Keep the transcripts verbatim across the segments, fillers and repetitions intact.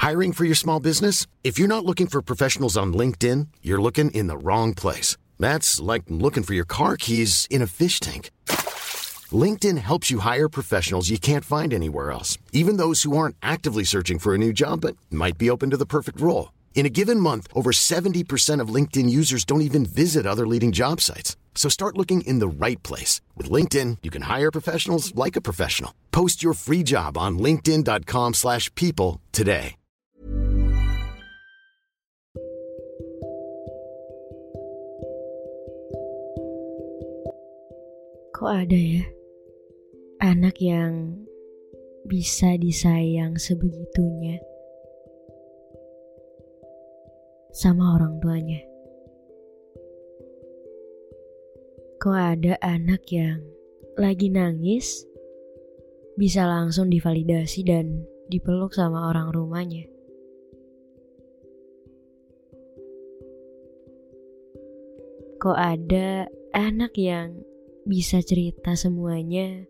Hiring for your small business? If you're not looking for professionals on LinkedIn, you're looking in the wrong place. That's like looking for your car keys in a fish tank. LinkedIn helps you hire professionals you can't find anywhere else, even those who aren't actively searching for a new job but might be open to the perfect role. In a given month, over seventy percent of LinkedIn users don't even visit other leading job sites. So start looking in the right place. With LinkedIn, you can hire professionals like a professional. Post your free job on linkedin.com slash people today. Kok ada ya anak yang bisa disayang sebegitunya sama orang tuanya? Kok ada anak yang lagi nangis bisa langsung divalidasi dan dipeluk sama orang rumahnya? Kok ada anak yang bisa cerita semuanya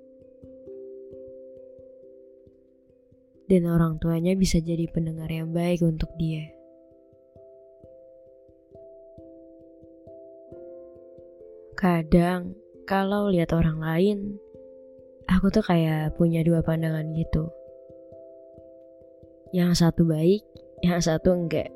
dan orang tuanya bisa jadi pendengar yang baik untuk dia? Kadang kalau lihat orang lain, aku tuh kayak punya dua pandangan gitu. Yang satu baik, yang satu enggak.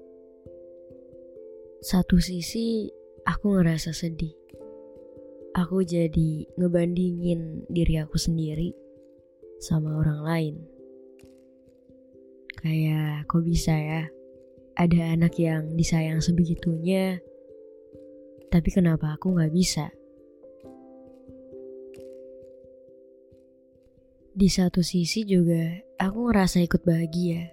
Satu sisi aku ngerasa sedih. Aku jadi ngebandingin diri aku sendiri sama orang lain. Kayak kok bisa ya ada anak yang disayang sebegitunya, tapi kenapa aku gak bisa? Di satu sisi juga aku ngerasa ikut bahagia.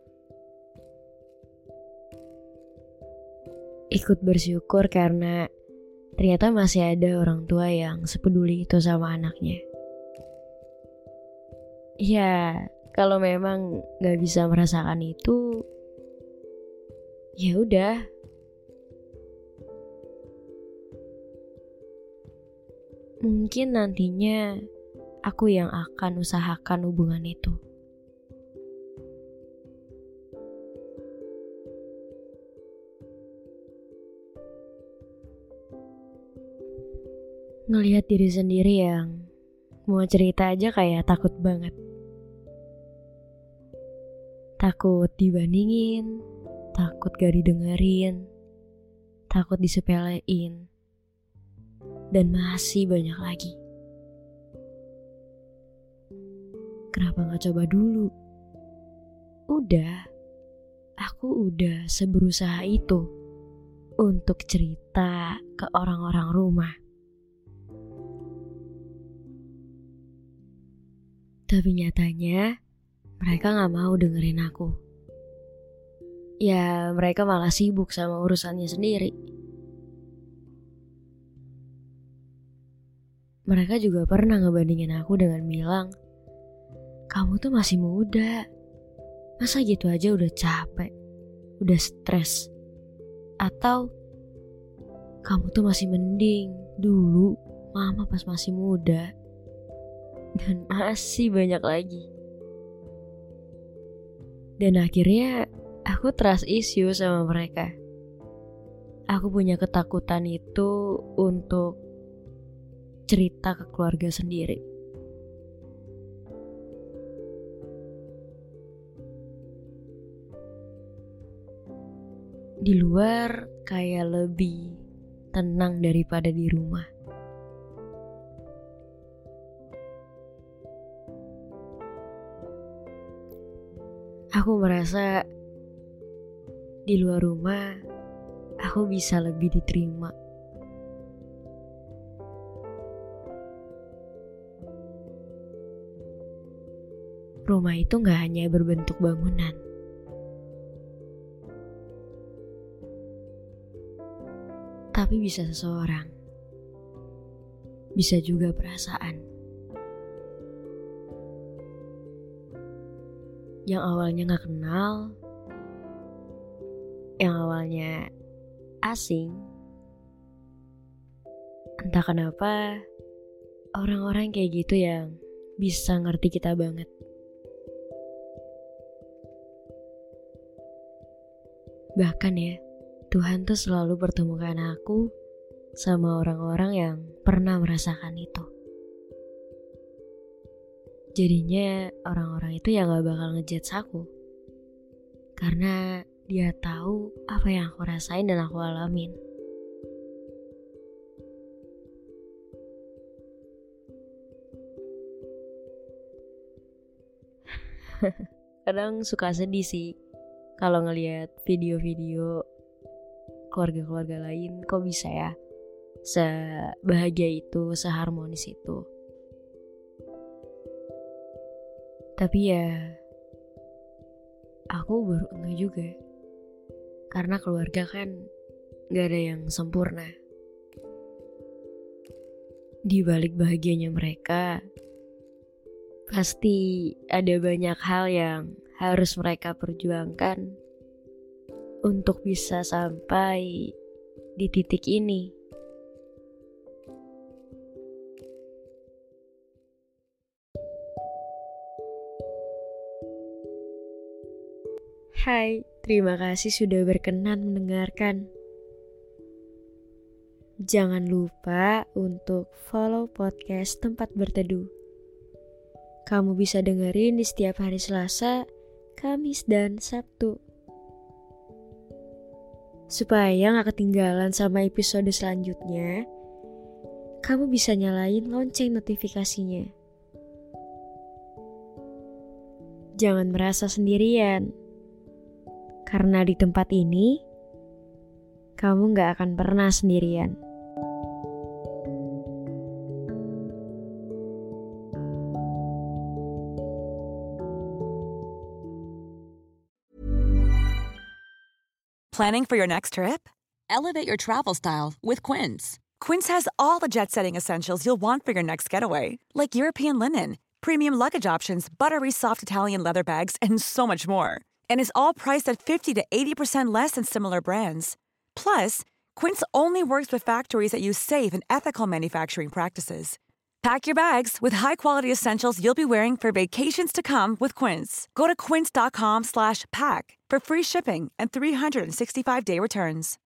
Ikut bersyukur karena ternyata masih ada orang tua yang sepeduli itu sama anaknya. Ya, kalau memang gak bisa merasakan itu, ya udah. Mungkin nantinya aku yang akan usahakan hubungan itu. Ngelihat diri sendiri yang mau cerita aja kayak takut banget. Takut dibandingin, takut gak didengerin, takut disepelein, dan masih banyak lagi. Kenapa gak coba dulu? Udah, aku udah seberusaha itu untuk cerita ke orang-orang rumah. Tapi nyatanya mereka gak mau dengerin aku. Ya mereka malah sibuk sama urusannya sendiri. Mereka juga pernah ngebandingin aku dengan bilang, kamu tuh masih muda, masa gitu aja udah capek, udah stres. Atau kamu tuh masih mending dulu mama pas masih muda. Dan masih banyak lagi. Dan akhirnya aku trust issue sama mereka. Aku punya ketakutan itu untuk cerita ke keluarga sendiri. Di luar kayak lebih tenang daripada di rumah. Aku merasa di luar rumah aku bisa lebih diterima. Rumah itu gak hanya berbentuk bangunan. Tapi bisa seseorang. Bisa juga perasaan. Yang awalnya gak kenal, yang awalnya asing, entah kenapa orang-orang kayak gitu yang bisa ngerti kita banget. Bahkan ya, Tuhan tuh selalu pertemukan aku sama orang-orang yang pernah merasakan itu. Jadinya orang-orang itu ya gak bakal ngejudge aku. Karena dia tahu apa yang aku rasain dan aku alamin. Kadang suka sedih sih kalau ngelihat video-video keluarga-keluarga lain, kok bisa ya sebahagia itu, seharmonis itu. Tapi ya aku baru enggak juga. Karena keluarga kan gak ada yang sempurna. Di balik bahagianya mereka, pasti ada banyak hal yang harus mereka perjuangkan untuk bisa sampai di titik ini. Hai, terima kasih sudah berkenan mendengarkan. Jangan lupa untuk follow podcast Tempat Berteduh. Kamu bisa dengerin di setiap hari Selasa, Kamis, dan Sabtu. Supaya gak ketinggalan sama episode selanjutnya, kamu bisa nyalain lonceng notifikasinya. Jangan merasa sendirian, karena di tempat ini, kamu gak akan pernah sendirian. Planning for your next trip? Elevate your travel style with Quince. Quince has all the jet-setting essentials you'll want for your next getaway, like European linen, premium luggage options, buttery soft Italian leather bags, and so much more. And is all priced at fifty to eighty percent less than similar brands. Plus, Quince only works with factories that use safe and ethical manufacturing practices. Pack your bags with high-quality essentials you'll be wearing for vacations to come with Quince. Go to quince.com slash pack for free shipping and three sixty-five day returns.